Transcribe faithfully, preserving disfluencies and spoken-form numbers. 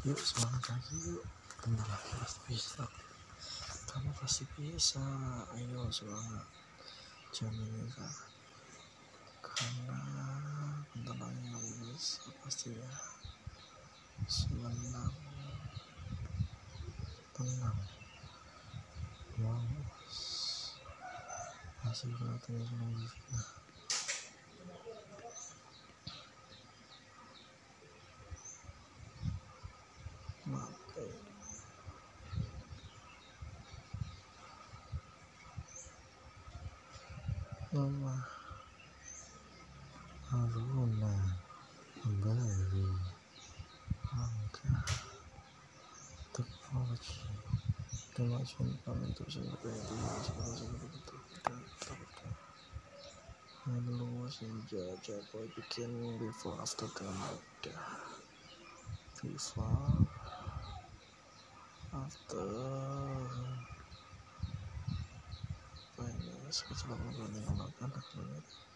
Yuk semangat lagi yuk, bentar lagi pasti bisa, kamu pasti bisa. Ayo semangat, jamin ya, karena bentar lagi kamu bisa pasti ya. Semenang tenang, wow, masih kelihatannya belum berfitnah. Mati Mama Aruna baru langkah teknologi kemajuan untuk seluruh dunia seluruh seluruh betul betul. Hello senja boy begin before after Gamada, before after finance kecuali